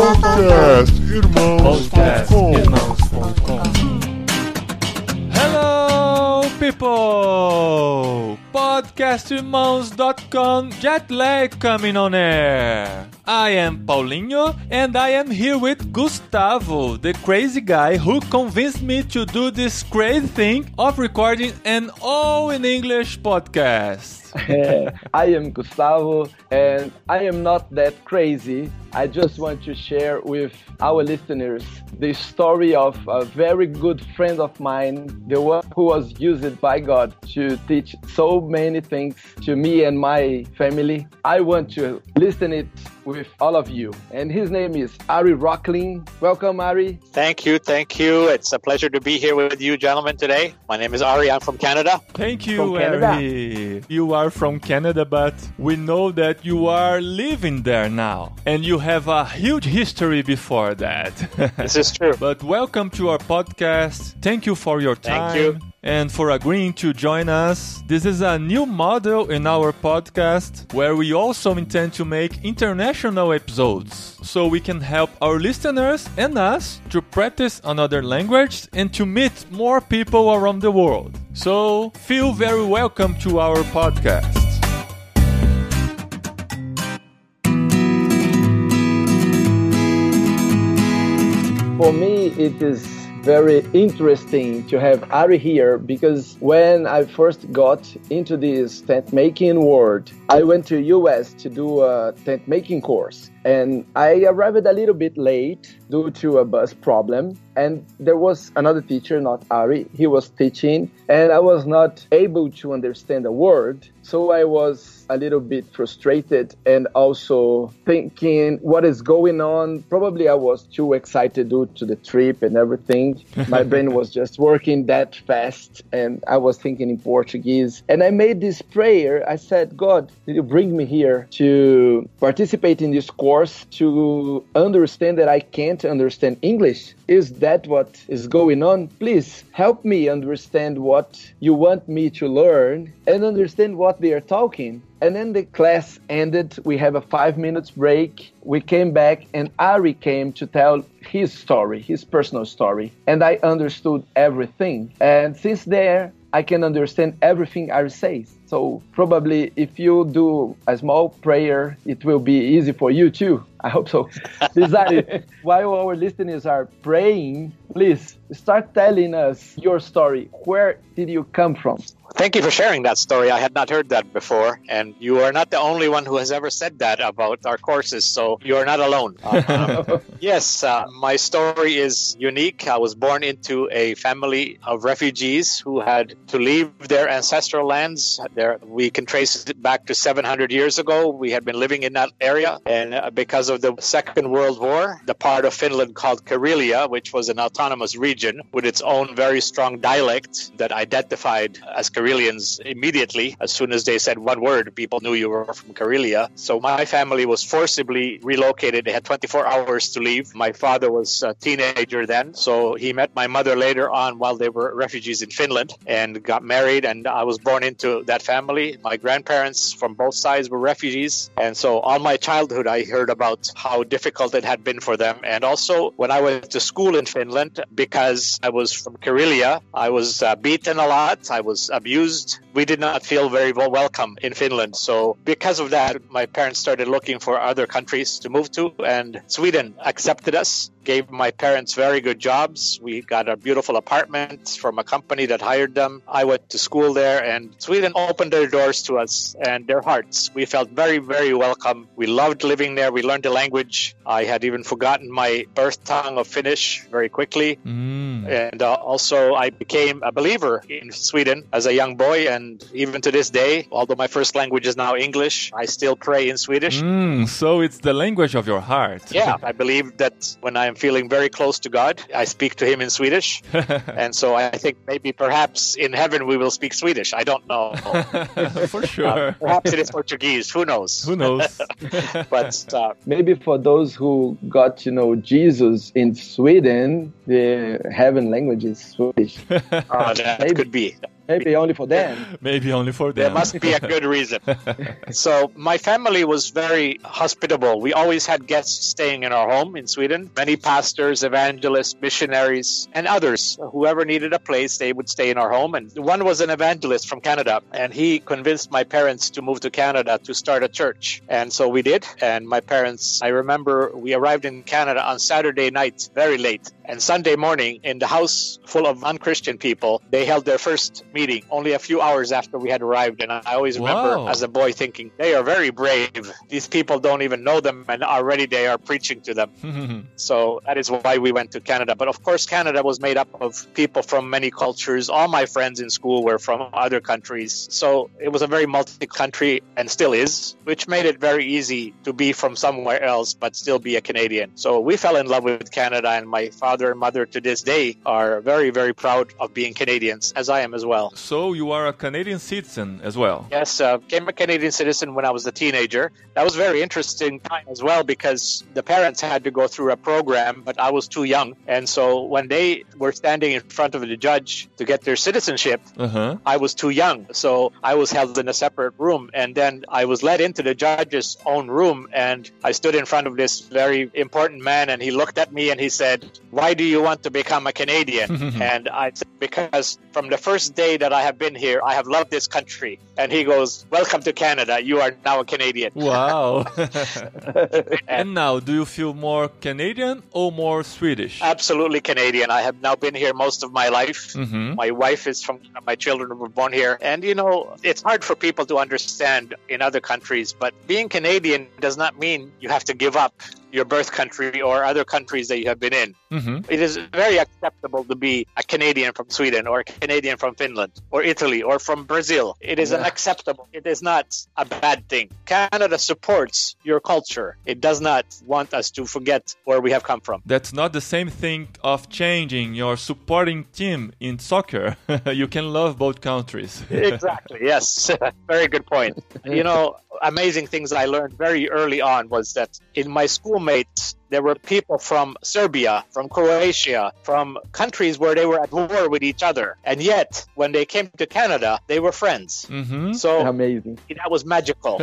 Hello, people! Podcastirmãos.com Jetlag coming on air. I am Paulinho and I am here with Gustavo, the crazy guy who convinced me to do this crazy thing of recording an all-in-English podcast. I am Gustavo, and I am not that crazy. I just want to share with our listeners the story of a very good friend of mine, the one who was used by God to teach so many things to me and my family. I want to listen it with all of you. And his name is Ari Rocklin. Welcome, Ari. Thank you. It's a pleasure to be here with you gentlemen today. My name is Ari. I'm from Canada. Thank you, Ari. You are from Canada, but we know that you are living there now. And you have a huge history before that. This is true. But welcome to our podcast. Thank you for your time. Thank you. And for agreeing to join us. This is a new model in our podcast where we also intend to make international episodes so we can help our listeners and us to practice another language and to meet more people around the world. So feel very welcome to our podcast. For me, it is very interesting to have Ari here because when I first got into this tent making world, I went to US to do a tent making course. And I arrived a little bit late due to a bus problem. And there was another teacher, not Ari. He was teaching and I was not able to understand a word. So I was a little bit frustrated and also thinking what is going on. Probably I was too excited due to the trip and everything. My brain was just working that fast and I was thinking in Portuguese. And I made this prayer. I said, God, did you bring me here to participate in this course to understand that I can't understand English? Is that what is going on? Please help me understand what you want me to learn and understand what they are talking. And then the class ended. We have a 5 minutes break. We came back and Ari came to tell his story, his personal story. And I understood everything. And since there, I can understand everything Ari says. So probably if you do a small prayer, it will be easy for you too. I hope so. Ari, while our listeners are praying, please start telling us your story. Where did you come from? Thank you for sharing that story. I had not heard that before. And you are not the only one who has ever said that about our courses. So you are not alone. Yes, my story is unique. I was born into a family of refugees who had to leave their ancestral lands. We can trace it back to 700 years ago. We had been living in that area. And because of the Second World War, the part of Finland called Karelia, which was an autonomous region with its own very strong dialect that identified as Karelians immediately. As soon as they said one word, people knew you were from Karelia. So my family was forcibly relocated. They had 24 hours to leave. My father was a teenager then, so he met my mother later on while they were refugees in Finland and got married, and I was born into that family. My grandparents from both sides were refugees, and so all my childhood I heard about how difficult it had been for them. And also when I went to school in Finland, because I was from Karelia, I was beaten a lot. I was abused. We did not feel very welcome in Finland. So because of that, my parents started looking for other countries to move to, and Sweden accepted us, gave my parents very good jobs. We got a beautiful apartment from a company that hired them. I went to school there, and Sweden opened their doors to us and their hearts. We felt very, very welcome. We loved living there. We learned the language. I had even forgotten my birth tongue of Finnish very quickly. And also I became a believer in Sweden as a young boy, and even to this day, although my first language is now English, I still pray in Swedish. So it's the language of your heart. Yeah, I believe that when I'm feeling very close to God, I speak to him in Swedish. And so I think maybe perhaps in heaven we will speak Swedish. I don't know. For sure. Perhaps it is Portuguese. Who knows? Who knows? But maybe for those who got to know Jesus in Sweden, the heaven language is Swedish. That could be. Maybe only for them. Maybe only for them. There must be a good reason. So my family was very hospitable. We always had guests staying in our home in Sweden. Many pastors, evangelists, missionaries, and others. Whoever needed a place, they would stay in our home. And one was an evangelist from Canada, and he convinced my parents to move to Canada to start a church. And so we did. And my parents, I remember we arrived in Canada on Saturday night, very late. And Sunday morning, in the house full of unchristian people, they held their first meeting only a few hours after we had arrived. And I always remember as a boy thinking, they are very brave. These people don't even know them, and already they are preaching to them. So that is why we went to Canada. But of course, Canada was made up of people from many cultures. All my friends in school were from other countries. So it was a very multi-country, and still is, which made it very easy to be from somewhere else but still be a Canadian. So we fell in love with Canada, and my father and mother to this day are very, very proud of being Canadians, as I am as well. So you are a Canadian citizen as well? Yes, became a Canadian citizen when I was a teenager. That was a very interesting time as well, because the parents had to go through a program, but I was too young. And so when they were standing in front of the judge to get their citizenship, I was too young. So I was held in a separate room, and then I was led into the judge's own room, and I stood in front of this very important man, and he looked at me and he said, "Why do you want to become a Canadian?" And I said, "Because from the first day that I have been here, I have loved this country." And he goes, "Welcome to Canada. You are now a Canadian." Wow. And now, do you feel more Canadian or more Swedish? Absolutely Canadian. I have now been here most of my life. My wife is from, my children were born here. And, you know, it's hard for people to understand in other countries, but being Canadian does not mean you have to give up your birth country or other countries that you have been in. It is very acceptable to be a Canadian from Sweden or a Canadian from Finland or Italy or from Brazil. It is unacceptable. It is not a bad thing. Canada supports your culture. It does not want us to forget where we have come from. That's not the same thing of changing your supporting team in soccer. You can love both countries. Exactly, yes. Very good point. You know, amazing things I learned very early on was that in my schoolmates, there were people from Serbia, from Croatia, from countries where they were at war with each other. And yet, when they came to Canada, they were friends. So amazing. That was magical.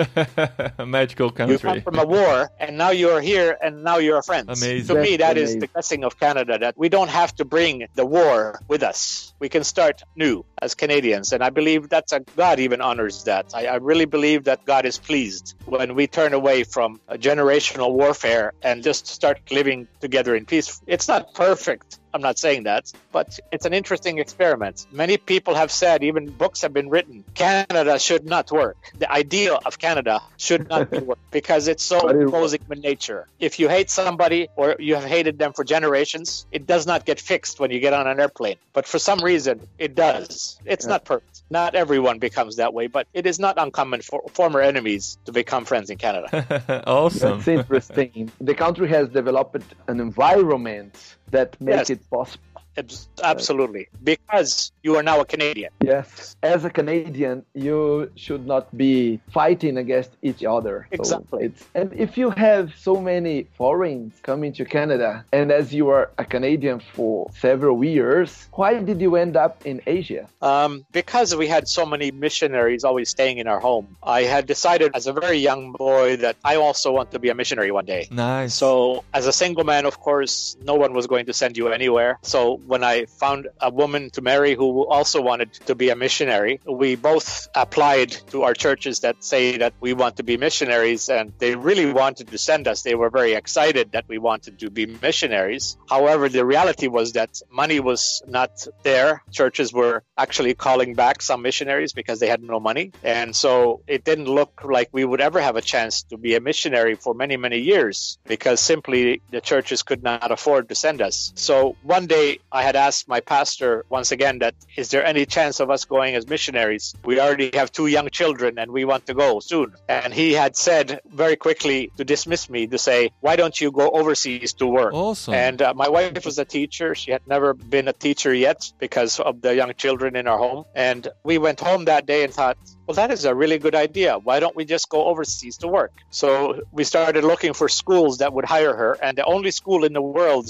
A magical country. You come from a war, and now you're here, and now you're friends. Amazing. To me, that is the blessing of Canada, that we don't have to bring the war with us. We can start new as Canadians. And I believe God even honors that. I really believe that God is pleased when we turn away from a generational warfare and just start living together in peace. It's not perfect. I'm not saying that, but it's an interesting experiment. Many people have said, even books have been written, Canada should not work. The idea of Canada should not work because it's so opposing in nature. If you hate somebody or you have hated them for generations, it does not get fixed when you get on an airplane. But for some reason, it does. It's not perfect. Not everyone becomes that way, but it is not uncommon for former enemies to become friends in Canada. Awesome. That's interesting. The country has developed an environment that makes it possible. Absolutely. Because you are now a Canadian. Yes. As a Canadian, you should not be fighting against each other. Exactly. And if you have so many foreigners coming to Canada, and as you are a Canadian for several years, why did you end up in Asia? Because we had so many missionaries always staying in our home. I had decided as a very young boy that I also want to be a missionary one day. Nice. So as a single man, of course, no one was going to send you anywhere. So when I found a woman to marry who also wanted to be a missionary, we both applied to our churches that say that we want to be missionaries, and they really wanted to send us. They were very excited that we wanted to be missionaries. However, the reality was that money was not there. Churches were actually calling back some missionaries because they had no money. And so it didn't look like we would ever have a chance to be a missionary for many, many years because simply the churches could not afford to send us. So one day I had asked my pastor once again that, is there any chance of us going as missionaries? We already have 2 young children and we want to go soon. And he had said very quickly to dismiss me, to say, why don't you go overseas to work? Awesome. And my wife was a teacher. She had never been a teacher yet because of the young children in our home. And we went home that day and thought, well, that is a really good idea. Why don't we just go overseas to work? So we started looking for schools that would hire her. And the only school in the world that we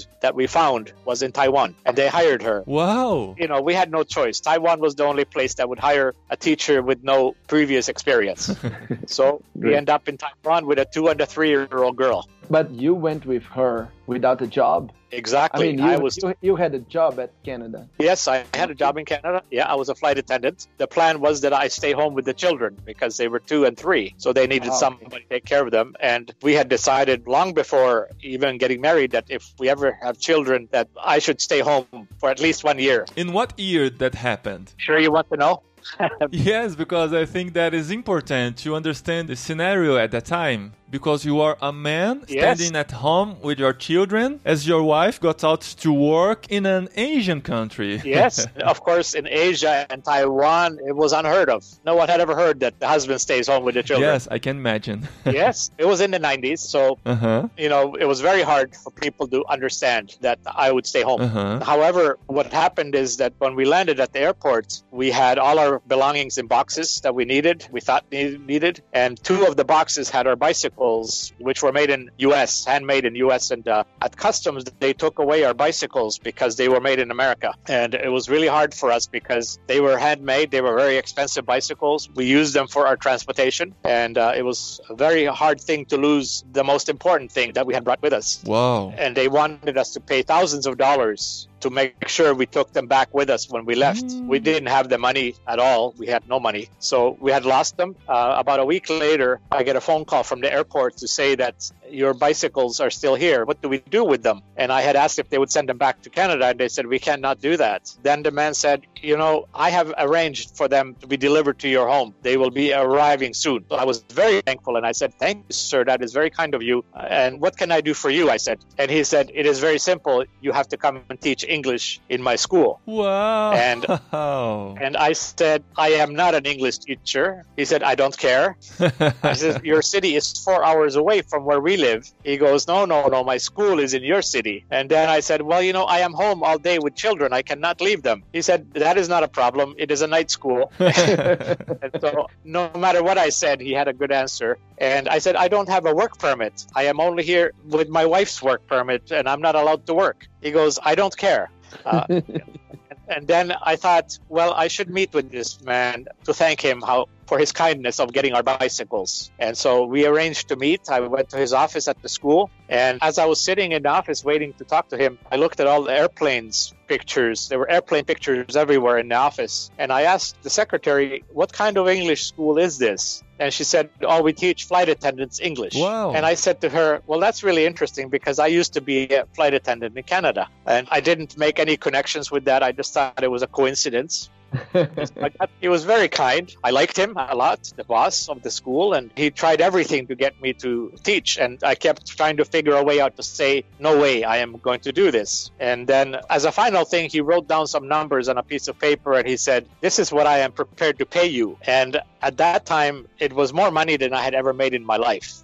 found was in Taiwan, and they hired her. Wow. You know, we had no choice. Taiwan was the only place that would hire a teacher with no previous experience. So we end up in Taiwan with a 2 and a 3-year-old girl. But you went with her without a job? Exactly. I mean, you had a job at Canada. Yes, I had a job in Canada. Yeah, I was a flight attendant. The plan was that I stay home with the children because they were 2 and 3. So they needed somebody to take care of them. And we had decided long before even getting married that if we ever have children, that I should stay home for at least 1 year. In what year that happened? Sure you want to know? Yes, because I think that is important to understand the scenario at that time. Because you are a man standing at home with your children as your wife got out to work in an Asian country. Yes, of course, in Asia and Taiwan, it was unheard of. No one had ever heard that the husband stays home with the children. Yes, I can imagine. Yes, it was in the 90s. So, you know, it was very hard for people to understand that I would stay home. However, what happened is that when we landed at the airport, we had all our belongings in boxes that we thought needed. And 2 of the boxes had our bicycles, which were made in U.S., handmade in U.S. And at customs, they took away our bicycles because they were made in America. And it was really hard for us because they were handmade. They were very expensive bicycles. We used them for our transportation. And it was a very hard thing to lose the most important thing that we had brought with us. Wow. And they wanted us to pay thousands of dollars to make sure we took them back with us when we left. We didn't have the money at all. We had no money. So we had lost them. About a week later, I get a phone call from the airport to say that your bicycles are still here. What do we do with them? And I had asked if they would send them back to Canada, and they said, we cannot do that. Then the man said, you know, I have arranged for them to be delivered to your home. They will be arriving soon. So I was very thankful, and I said, thank you, sir. That is very kind of you. And what can I do for you? I said. And he said, it is very simple. You have to come and teach English in my school. Wow. And I said, I am not an English teacher. He said, I don't care. I said, your city is 4 hours away from where we live. He goes, no, my school is in your city. And then I said, well, you know, I am home all day with children. I cannot leave them. He said, that is not a problem. It is a night school. And so no matter what I said, he had a good answer. And I said, I don't have a work permit. I am only here with my wife's work permit, and I'm not allowed to work. He goes, I don't care. And then I thought, well, I should meet with this man to thank him for his kindness of getting our bicycles. And so we arranged to meet. I went to his office at the school. And as I was sitting in the office waiting to talk to him, I looked at all the airplanes pictures. There were airplane pictures everywhere in the office. And I asked the secretary, what kind of English school is this? And she said, oh, we teach flight attendants English. Wow. And I said to her, well, that's really interesting because I used to be a flight attendant in Canada. And I didn't make any connections with that. I just thought it was a coincidence. He was very kind. I liked him a lot, the boss of the school, and he tried everything to get me to teach. And I kept trying to figure a way out to say, no way, I am going to do this. And then as a final thing, he wrote down some numbers on a piece of paper and he said, this is what I am prepared to pay you. And at that time, it was more money than I had ever made in my life.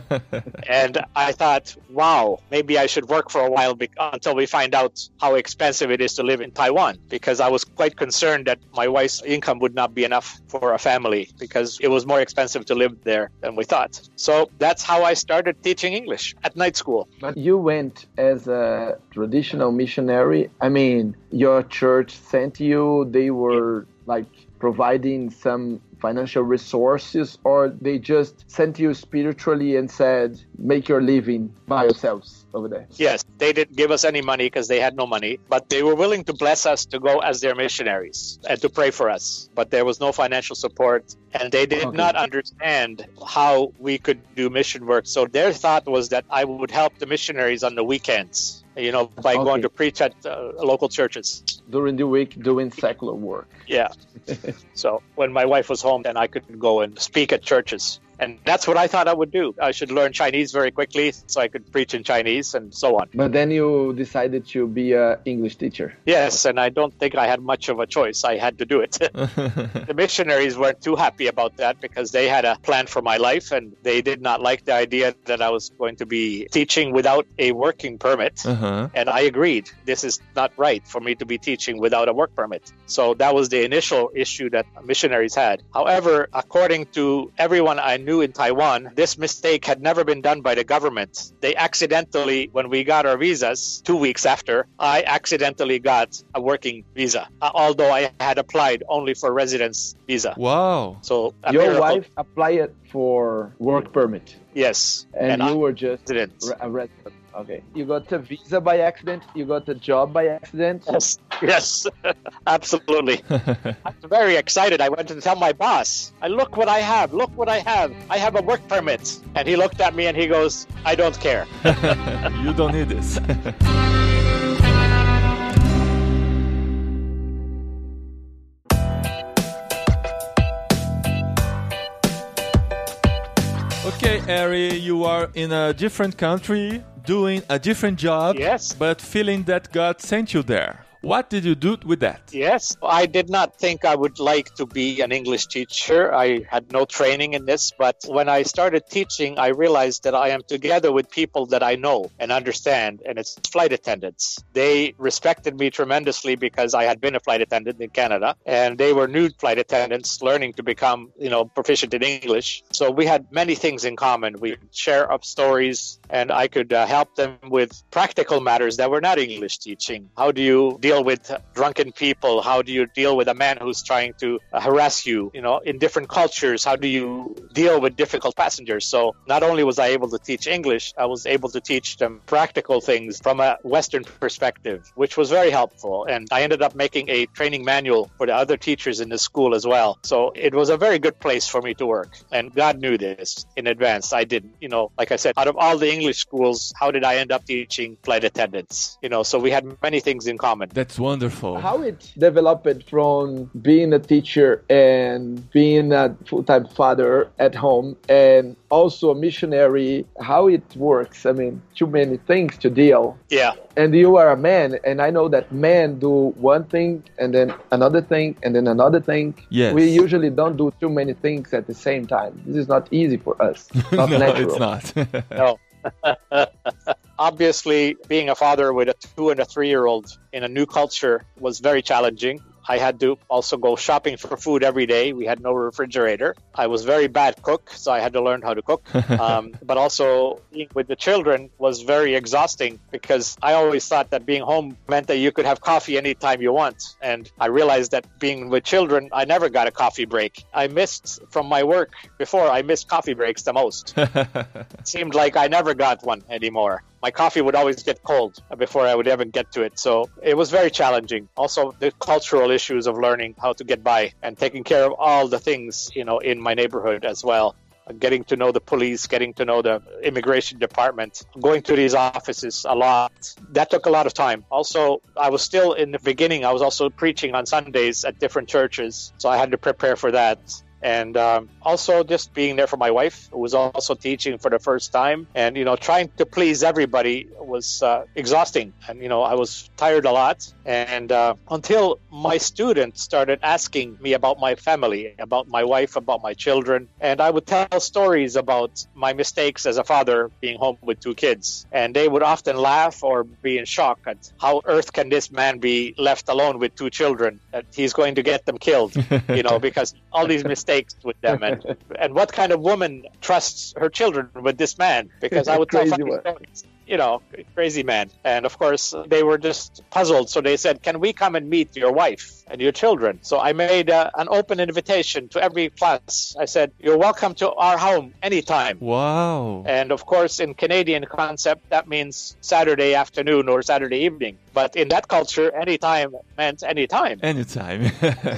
And I thought, wow, maybe I should work for a while until we find out how expensive it is to live in Taiwan, because I was quite concerned that my wife's income would not be enough for a family because it was more expensive to live there than we thought. So that's how I started teaching English at night school. But you went as a traditional missionary. I mean, your church sent you, they were like providing some financial resources, or they just sent you spiritually and said, make your living by yourselves over there? Yes, they didn't give us any money because they had no money, but they were willing to bless us to go as their missionaries and to pray for us. But there was no financial support, and they did not understand how we could do mission work. So their thought was that I would help the missionaries on the weekends, you know, by going to preach at local churches. During the week, doing secular work. Yeah. So when my wife was home, then I could go and speak at churches. And that's what I thought I would do. I should learn Chinese very quickly so I could preach in Chinese and so on. But then you decided to be an English teacher. Yes, and I don't think I had much of a choice. I had to do it. The missionaries weren't too happy about that because they had a plan for my life and they did not like the idea that I was going to be teaching without a working permit. And I agreed. This is not right for me to be teaching without a work permit. So that was the initial issue that missionaries had. However, according to everyone I knew knew in Taiwan, this mistake had never been done by the government. They accidentally, when we got our visas 2 weeks after, I accidentally got a working visa, although I had applied only for residence visa. Wow. So your wife applied for work permit. Yes. And you were just resident. A resident. Okay. You got a visa by accident. You got a job by accident. Yes, absolutely. I'm very excited. I went to tell my boss, look what I have. Look what I have. I have a work permit. And he looked at me and he goes, I don't care. You don't need this. Okay, Ari, you are in a different country, doing a different job, yes, but feeling that God sent you there. What did you do with that? Yes, I did not think I would like to be an English teacher. I had no training in this, but when I started teaching, I realized that I am together with people that I know and understand, and it's flight attendants. They respected me tremendously because I had been a flight attendant in Canada, and they were new flight attendants learning to become, proficient in English. So we had many things in common. We would share up stories, and I could help them with practical matters that were not English teaching. How do you deal with drunken people? How do you deal with a man who's trying to harass you? In different cultures, how do you deal with difficult passengers? So not only was I able to teach English, I was able to teach them practical things from a Western perspective, which was very helpful. And I ended up making a training manual for the other teachers in the school as well. So it was a very good place for me to work. And God knew this in advance. I didn't. Like I said, out of all the English schools, how did I end up teaching flight attendants? So we had many things in common. That's wonderful. How it developed from being a teacher and being a full-time father at home and also a missionary, how it works. I mean, too many things to deal. Yeah. And you are a man, and I know that men do one thing and then another thing and then another thing. Yes. We usually don't do too many things at the same time. This is not easy for us. Not no, natural. It's not. No. Obviously, being a father with a 2 and a 3-year-old in a new culture was very challenging. I had to also go shopping for food every day. We had no refrigerator. I was very bad cook, so I had to learn how to cook. But also being with the children was very exhausting because I always thought that being home meant that you could have coffee anytime you want. And I realized that being with children, I never got a coffee break. I missed from my work before, I missed coffee breaks the most. It seemed like I never got one anymore. My coffee would always get cold before I would ever get to it. So it was very challenging. Also, the cultural issues of learning how to get by and taking care of all the things, in my neighborhood as well. Getting to know the police, getting to know the immigration department, going to these offices a lot. That took a lot of time. Also, I was still in the beginning. I was also preaching on Sundays at different churches. So I had to prepare for that. And also just being there for my wife, who was also teaching for the first time. And, trying to please everybody was exhausting. And, I was tired a lot. And until my students started asking me about my family, about my wife, about my children. And I would tell stories about my mistakes as a father being home with 2 kids. And they would often laugh or be in shock at how earth can this man be left alone with 2 children, that he's going to get them killed, because all these mistakes with them, and what kind of woman trusts her children with this man? Because I would tell funny stories. Crazy man. And of course, they were just puzzled. So they said, can we come and meet your wife and your children? So I made an open invitation to every class. I said, you're welcome to our home anytime. Wow. And of course, in Canadian concept, that means Saturday afternoon or Saturday evening. But in that culture, anytime meant anytime. Anytime.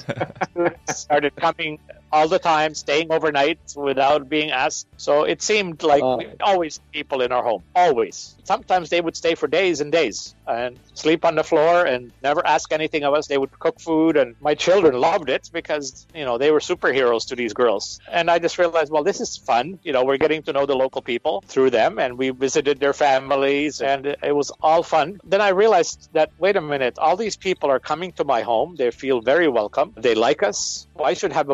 Started coming all the time, staying overnight without being asked. So it seemed like we always had people in our home, always. Sometimes they would stay for days and days and sleep on the floor and never ask anything of us. They would cook food, and my children loved it because, they were superheroes to these girls. And I just realized, well, this is fun. We're getting to know the local people through them, and we visited their families, and it was all fun. Then I realized that, wait a minute, all these people are coming to my home. They feel very welcome. They like us. Well, I should have a Bible study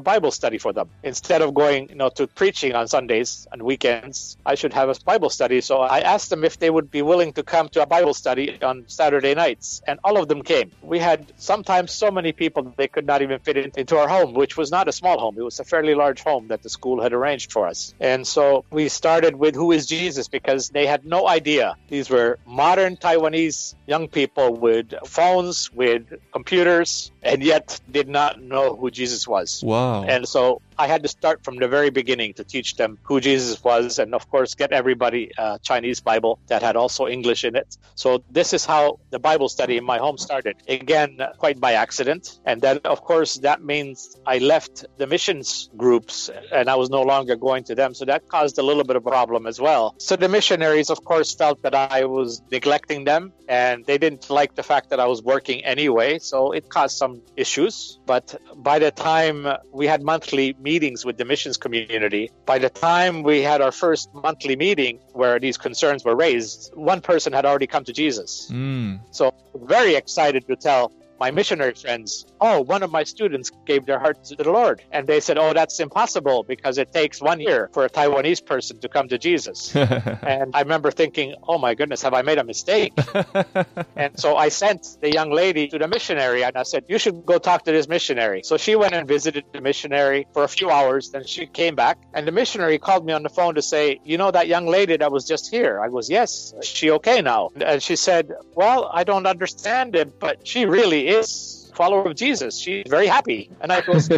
study for them. Instead of going, to preaching on Sundays and weekends, I should have a Bible study. So I asked them if they would be willing to come to a Bible study on Saturday nights, and all of them came. We had sometimes so many people that they could not even fit into our home, which was not a small home. It was a fairly large home that the school had arranged for us. And so we started with Who is Jesus? Because they had no idea. These were modern Taiwanese young people with phones, with computers, and yet did not know who Jesus was. Wow. And so I had to start from the very beginning to teach them who Jesus was, and of course get everybody a Chinese Bible that had also English in it. So this is how the Bible study in my home started. Again, quite by accident. And then of course that means I left the missions groups and I was no longer going to them. So that caused a little bit of a problem as well. So the missionaries of course felt that I was neglecting them, and they didn't like the fact that I was working anyway. So it caused some issues. But by the time we had monthly meetings with the missions community, by the time we had our first monthly meeting where these concerns were raised, one person had already come to Jesus. So very excited to tell my missionary friends, one of my students gave their heart to the Lord. And they said, that's impossible because it takes 1 year for a Taiwanese person to come to Jesus. And I remember thinking, oh my goodness, have I made a mistake? And so I sent the young lady to the missionary and I said, you should go talk to this missionary. So she went and visited the missionary for a few hours. Then she came back and the missionary called me on the phone to say, that young lady that was just here? I was, yes. Is she okay now? And she said, well, I don't understand it, but she really is a follower of Jesus. She's very happy. And I goes,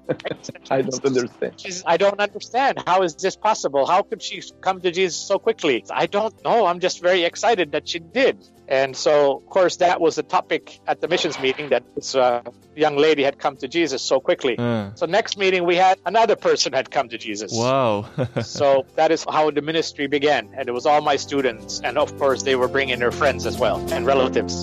I don't understand. I don't understand. How is this possible? How could she come to Jesus so quickly? I don't know. I'm just very excited that she did. And so, of course, that was the topic at the missions meeting, that this young lady had come to Jesus so quickly. So next meeting, we had another person had come to Jesus. Wow. So that is how the ministry began. And it was all my students. And of course, they were bringing their friends as well and relatives.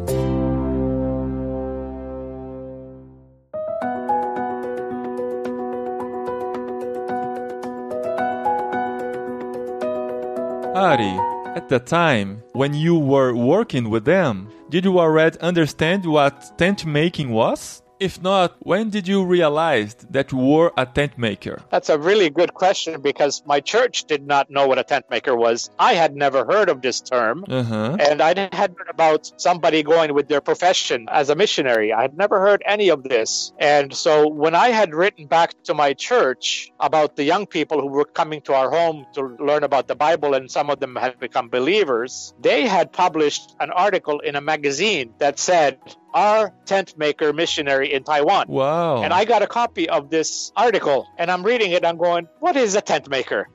Ari, at the time when you were working with them, did you already understand what tent making was? If not, when did you realize that you were a tent maker? That's a really good question because my church did not know what a tent maker was. I had never heard of this term. And I had heard about somebody going with their profession as a missionary. I had never heard any of this. And so when I had written back to my church about the young people who were coming to our home to learn about the Bible, and some of them had become believers, they had published an article in a magazine that said, "Our tent maker missionary in Taiwan." Wow. And I got a copy of this article and I'm reading it. I'm going, what is a tent maker?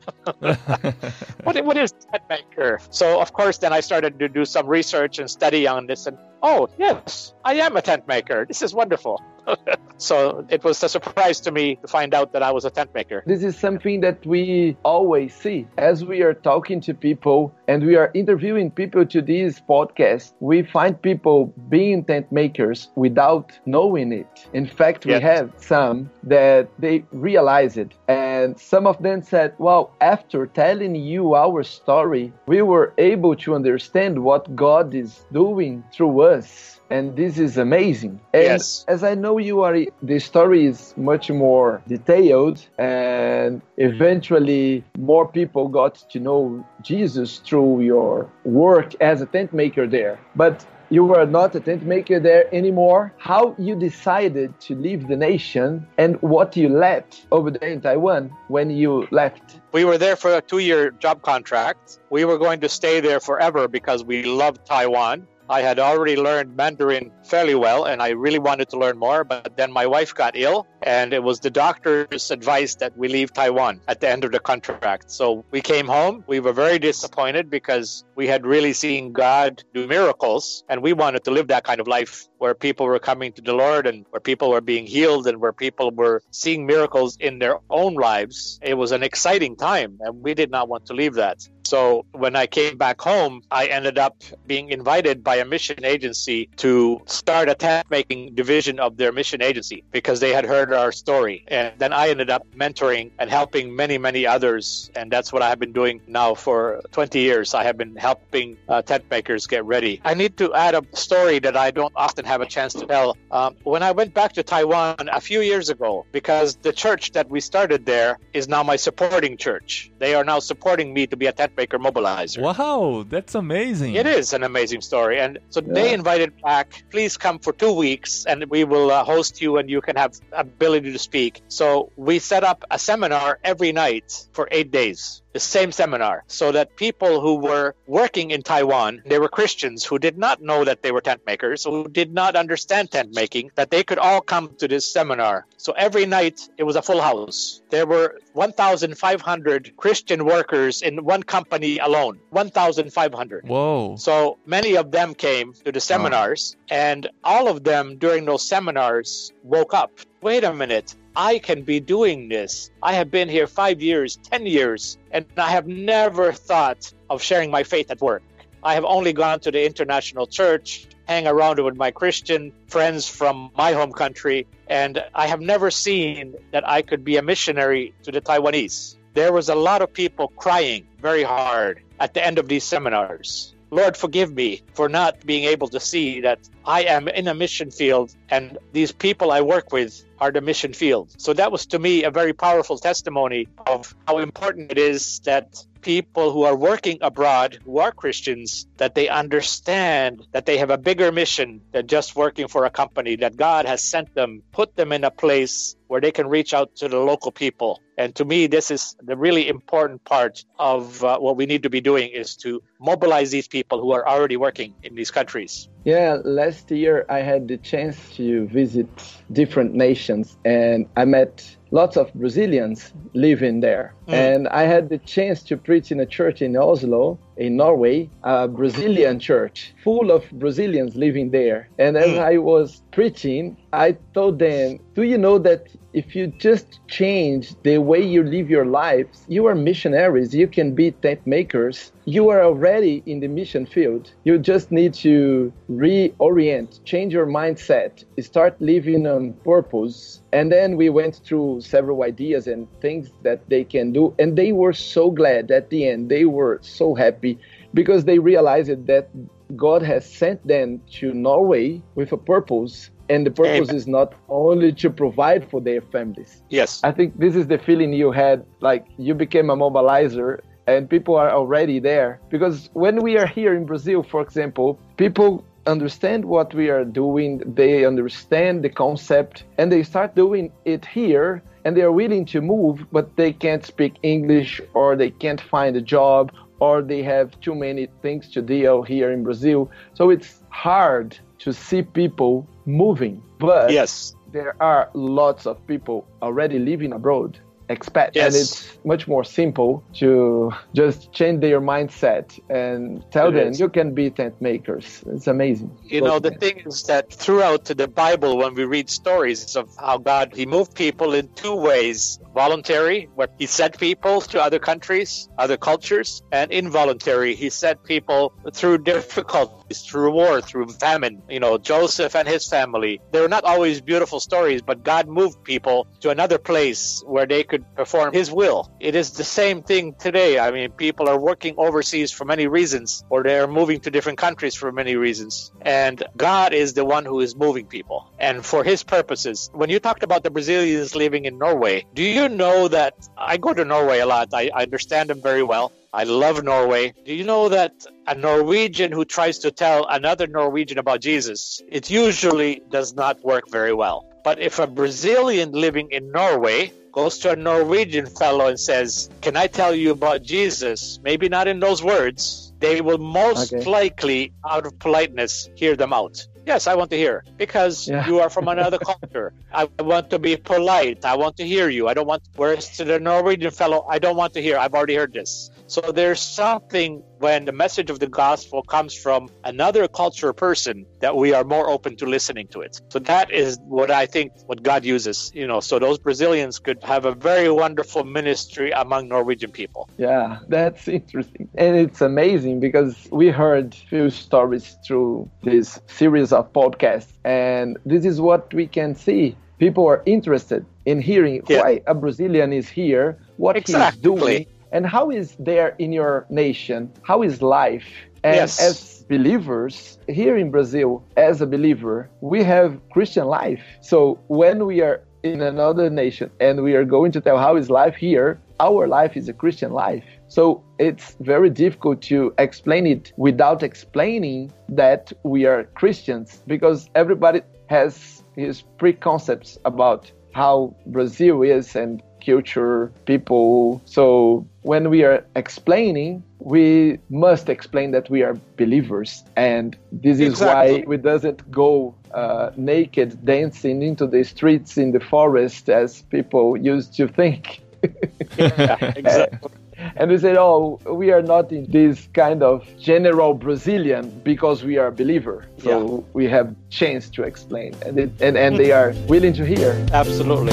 What is a tent maker? So, of course, then I started to do some research and study on this. And, yes, I am a tent maker. This is wonderful. So it was a surprise to me to find out that I was a tent maker. This is something that we always see as we are talking to people and we are interviewing people to this podcast. We find people being tent makers without knowing it. In fact, we have some that they realize it. And some of them said, well, after telling you our story, we were able to understand what God is doing through us. And this is amazing. And as I know you are, the story is much more detailed, and eventually more people got to know Jesus through your work as a tent maker there. But you were not a tent maker there anymore. How you decided to leave the nation and what you left over there in Taiwan when you left? We were there for a 2-year job contract. We were going to stay there forever because we loved Taiwan. I had already learned Mandarin fairly well, and I really wanted to learn more. But then my wife got ill, and it was the doctor's advice that we leave Taiwan at the end of the contract. So we came home. We were very disappointed because we had really seen God do miracles, and we wanted to live that kind of life where people were coming to the Lord and where people were being healed and where people were seeing miracles in their own lives. It was an exciting time, and we did not want to leave that. So when I came back home, I ended up being invited by a mission agency to start a tent-making division of their mission agency because they had heard our story. And then I ended up mentoring and helping many, many others. And that's what I have been doing now for 20 years. I have been helping tent makers get ready. I need to add a story that I don't often have a chance to tell. When I went back to Taiwan a few years ago, because the church that we started there is now my supporting church. They are now supporting me to be a tent maker mobilizer. Wow, that's amazing. It is an amazing story. And so they invited back, please come for 2 weeks and we will host you and you can have ability to speak. So we set up a seminar every night for 8 days. The same seminar, so that people who were working in Taiwan, they were Christians who did not know that they were tent makers, who did not understand tent making, that they could all come to this seminar. So every night it was a full house. There were 1,500 Christian workers in one company alone. 1,500. Whoa. So many of them came to the seminars, and all of them during those seminars woke up. Wait a minute. I can be doing this. I have been here 5 years, 10 years, and I have never thought of sharing my faith at work. I have only gone to the international church, hang around with my Christian friends from my home country, and I have never seen that I could be a missionary to the Taiwanese. There was a lot of people crying very hard at the end of these seminars. Lord, forgive me for not being able to see that I am in a mission field and these people I work with are the mission field. So that was to me a very powerful testimony of how important it is that people who are working abroad, who are Christians, that they understand that they have a bigger mission than just working for a company, that God has sent them, put them in a place where they can reach out to the local people. And to me, this is the really important part of what we need to be doing, is to mobilize these people who are already working in these countries. Yeah, last year I had the chance to visit different nations and I met lots of Brazilians living there. And I had the chance to preach in a church in Oslo, in Norway, a Brazilian church, full of Brazilians living there. And as I was preaching, I told them, do you know that if you just change the way you live your lives, you are missionaries, you can be tent makers. You are already in the mission field. You just need to reorient, change your mindset, start living on purpose. And then we went through several ideas and things that they can do. And they were so glad at the end. They were so happy because they realized that God has sent them to Norway with a purpose. And the purpose is not only to provide for their families. Yes. I think this is the feeling you had, like you became a mobilizer and people are already there. Because when we are here in Brazil, for example, people understand what we are doing, they understand the concept, and they start doing it here, and they are willing to move, but they can't speak English, or they can't find a job, or they have too many things to deal here in Brazil. So it's hard to see people moving. But there are lots of people already living abroad, expats, and it's much more simple to just change their mindset and tell them you can be tent makers. It's amazing. You know, the thing is that throughout the Bible, when we read stories of how God, he moved people in two ways: voluntary, where he sent people to other countries, other cultures, and involuntary, he sent people through difficulties, through war, through famine. You know, Joseph and his family, they were not always beautiful stories, but God moved people to another place where they could perform his will. It is the same thing today. I mean, people are working overseas for many reasons, or they're moving to different countries for many reasons. And God is the one who is moving people, and for his purposes. When you talked about the Brazilians living in Norway, do you know that I go to Norway a lot? I understand them very well. I love Norway. Do you know that a Norwegian who tries to tell another Norwegian about Jesus, it usually does not work very well. But if a Brazilian living in Norway goes to a Norwegian fellow and says, can I tell you about Jesus? Maybe not in those words. They will most likely, out of politeness, hear them out. Yes, I want to hear, because you are from another culture. I want to be polite. I want to hear you. I don't want, whereas to the Norwegian fellow, I don't want to hear. I've already heard this. So there's something when the message of the gospel comes from another culture person that we are more open to listening to it. So that is what I think what God uses, so those Brazilians could have a very wonderful ministry among Norwegian people. Yeah, that's interesting. And it's amazing because we heard few stories through this series of podcasts. And this is what we can see. People are interested in hearing why a Brazilian is here, what he's doing, and how is there in your nation, how is life. And as believers here in Brazil, as a believer, we have Christian life. So when we are in another nation and we are going to tell how is life here, our life is a Christian life. So it's very difficult to explain it without explaining that we are Christians, because everybody has his preconcepts about how Brazil is and culture, people. So when we are explaining, we must explain that we are believers. And this is why we doesn't go naked dancing into the streets in the forest as people used to think. Exactly. And we said, we are not in this kind of general Brazilian because we are a believer. So we have chance to explain. And they are willing to hear. Absolutely.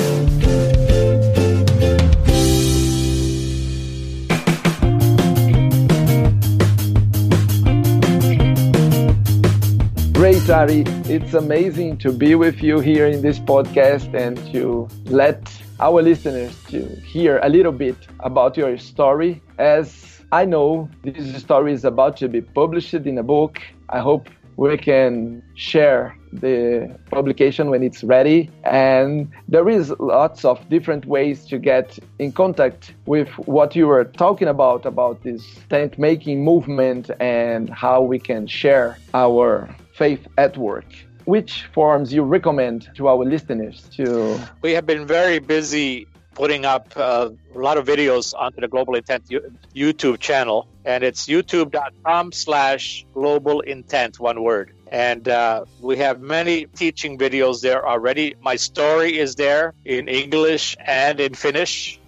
Great, Ari. It's amazing to be with you here in this podcast and to let our listeners to hear a little bit about your story. As I know, this story is about to be published in a book. I hope we can share the publication when it's ready. And there is lots of different ways to get in contact with what you were talking about this tent making movement and how we can share our faith at work. Which forms you recommend to our listeners to? We have been very busy putting up a lot of videos onto the Global Intent YouTube channel, and it's youtube.com/Global Intent, one word. And we have many teaching videos there already. My story is there in English and in Finnish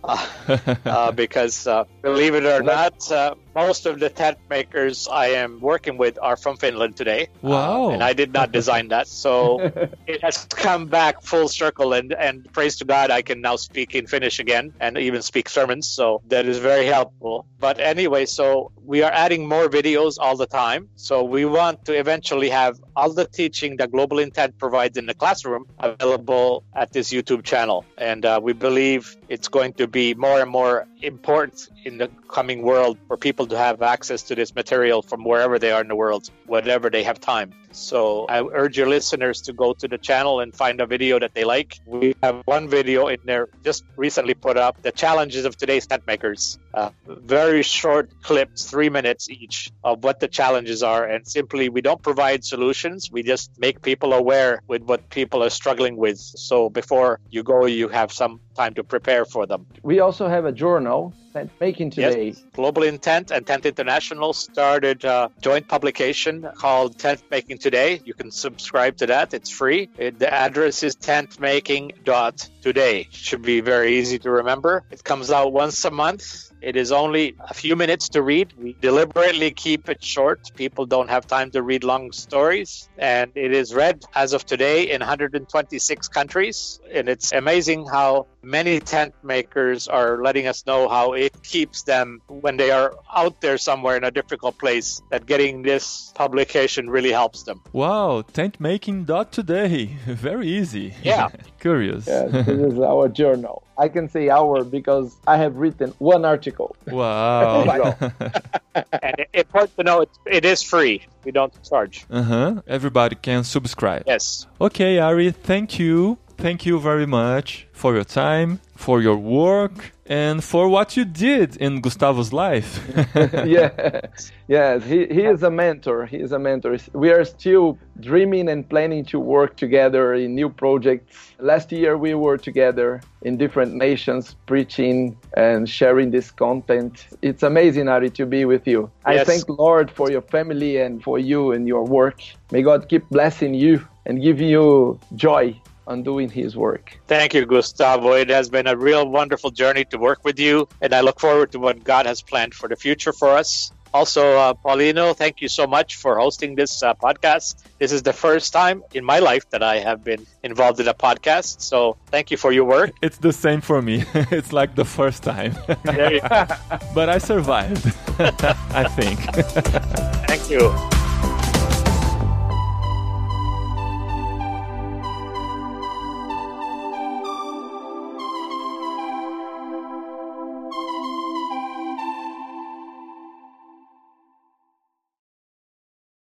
because, believe it or not, most of the tent makers I am working with are from Finland today. Wow. And I did not design that. So it has come back full circle. And praise to God, I can now speak in Finnish again and even speak sermons. So that is very helpful. But anyway, so we are adding more videos all the time. So we want to eventually have all the teaching that Global Intent provides in the classroom available at this YouTube channel. And we believe it's going to be more and more important in the coming world for people to have access to this material from wherever they are in the world, whenever they have time. So I urge your listeners to go to the channel and find a video that they like. We have one video in there just recently put up, the challenges of today's tent makers. Very short clips, 3 minutes each, of what the challenges are. And simply, we don't provide solutions. We just make people aware with what people are struggling with. So before you go, you have some time to prepare for them. We also have a journal, Tent Making Today. Yes. Global Intent and Tent International started a joint publication called Tent Making Today. You can subscribe to that. It's free. The address is tentmaking.today. Should be very easy to remember. It comes out once a month. It is only a few minutes to read. We deliberately keep it short. People don't have time to read long stories. And it is read as of today in 126 countries. And it's amazing how many tent makers are letting us know how it keeps them when they are out there somewhere in a difficult place, that getting this publication really helps them. Wow, tentmaking.today. Very easy. Yeah. Curious. Yeah, this is our journal. I can say our because I have written one article. Wow. And it's important to know it is free. We don't charge. Everybody can subscribe. Yes. Okay, Ari, thank you. Thank you very much for your time, for your work, and for what you did in Gustavo's life. Yes, he is a mentor. He is a mentor. We are still dreaming and planning to work together in new projects. Last year we were together in different nations preaching and sharing this content. It's amazing, Ari, to be with you. Yes. I thank Lord for your family and for you and your work. May God keep blessing you and giving you joy on doing his work. Thank you, Gustavo. It has been a real wonderful journey to work with you, and I look forward to what God has planned for the future for us. Also, Paulino, thank you so much for hosting this podcast. This is the first time in my life that I have been involved in a podcast, so thank you for your work. It's the same for me. It's like the first time. There you go. But I survived, I think. Thank you.